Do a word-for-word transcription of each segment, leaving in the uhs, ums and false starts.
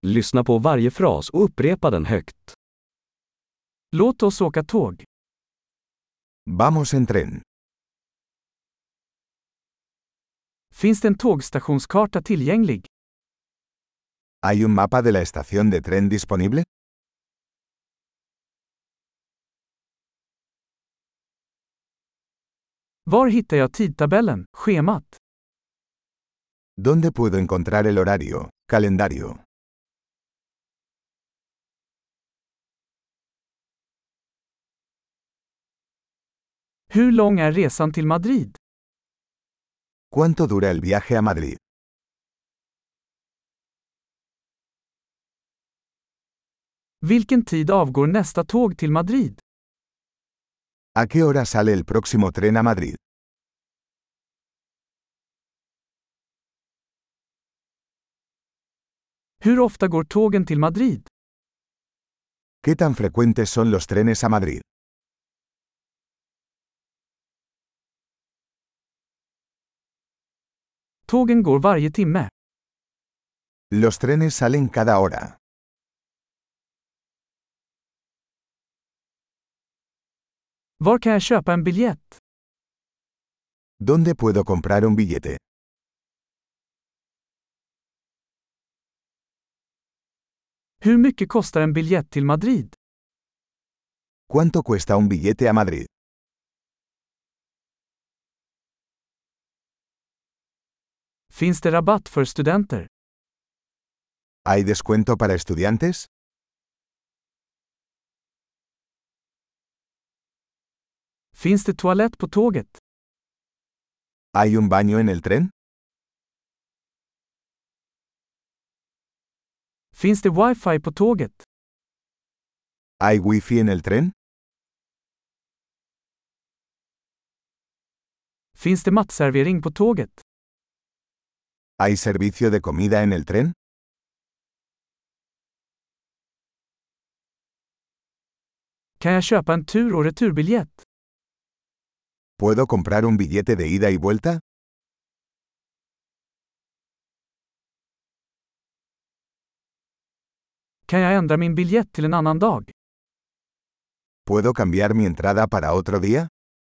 Lyssna på varje fras och upprepa den högt. Låt oss åka tåg. Vamos en tren. Finns det en tågstationskarta tillgänglig? ¿Hay un mapa de la estación de tren disponible? Var hittar jag tidtabellen, schemat? ¿Dónde puedo encontrar el horario, calendario? Hur lång är resan till Madrid? ¿Cuánto dura el viaje a Madrid? Vilken tid avgår nästa tåg till Madrid? ¿A qué hora sale el próximo tren a Madrid? Hur ofta går tågen till Madrid? ¿Qué tan frecuentes son los trenes a Madrid? Tågen går varje timme. Los trenes salen cada hora. Var kan jag köpa en biljett? ¿Dónde puedo comprar un billete? Hur mycket kostar en biljett till Madrid? ¿Cuánto cuesta un billete a Madrid? Finns det rabatt för studenter? ¿Hay descuento para estudiantes? Finns det toalett på tåget? ¿Hay un baño en el tren? Finns det wifi på tåget? ¿Hay wifi en el tren? Finns det matservering på tåget? ¿Hay servicio de comida en el tren? Kan jag köpa en tur- och returbiljett? ¿Puedo comprar un billete de ida y vuelta? Kan jag ändra min biljett till en annan dag? ¿Puedo cambiar mi entrada para otro día?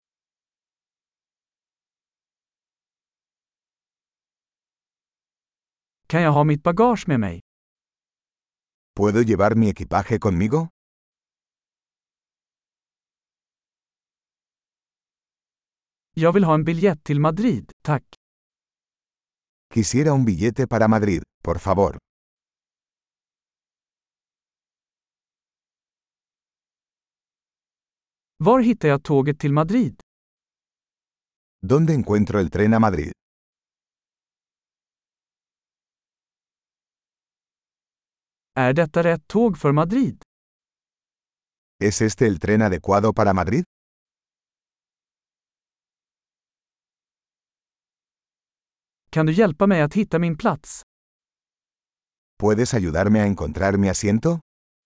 Kan jag ha mitt bagage med mig? ¿Puedo llevar mi equipaje conmigo? Jag vill ha en biljett till Madrid, tack. Quisiera un billete para Madrid, por favor. Var hittar jag tåget till Madrid? ¿Dónde encuentro el tren a Madrid? Är detta rätt tåg för Madrid? ¿Es este el tren adecuado para Madrid? Kan du hjälpa mig att hitta min plats? ¿Puedes ayudarme a encontrar mi asiento?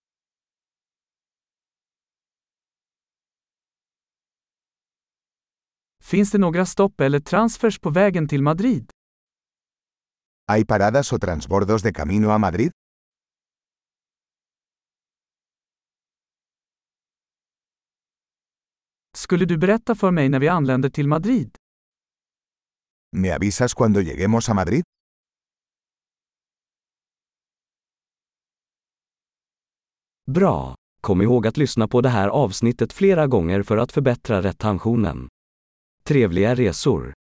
Finns det några stopp eller transfers på vägen till Madrid? ¿Hay paradas o transbordos de camino a Madrid? Skulle du berätta för mig när vi anländer till Madrid? ¿Me avisas cuando lleguemos a Madrid? Bra! Kom ihåg att lyssna på det här avsnittet flera gånger för att förbättra retentionen. Trevliga resor!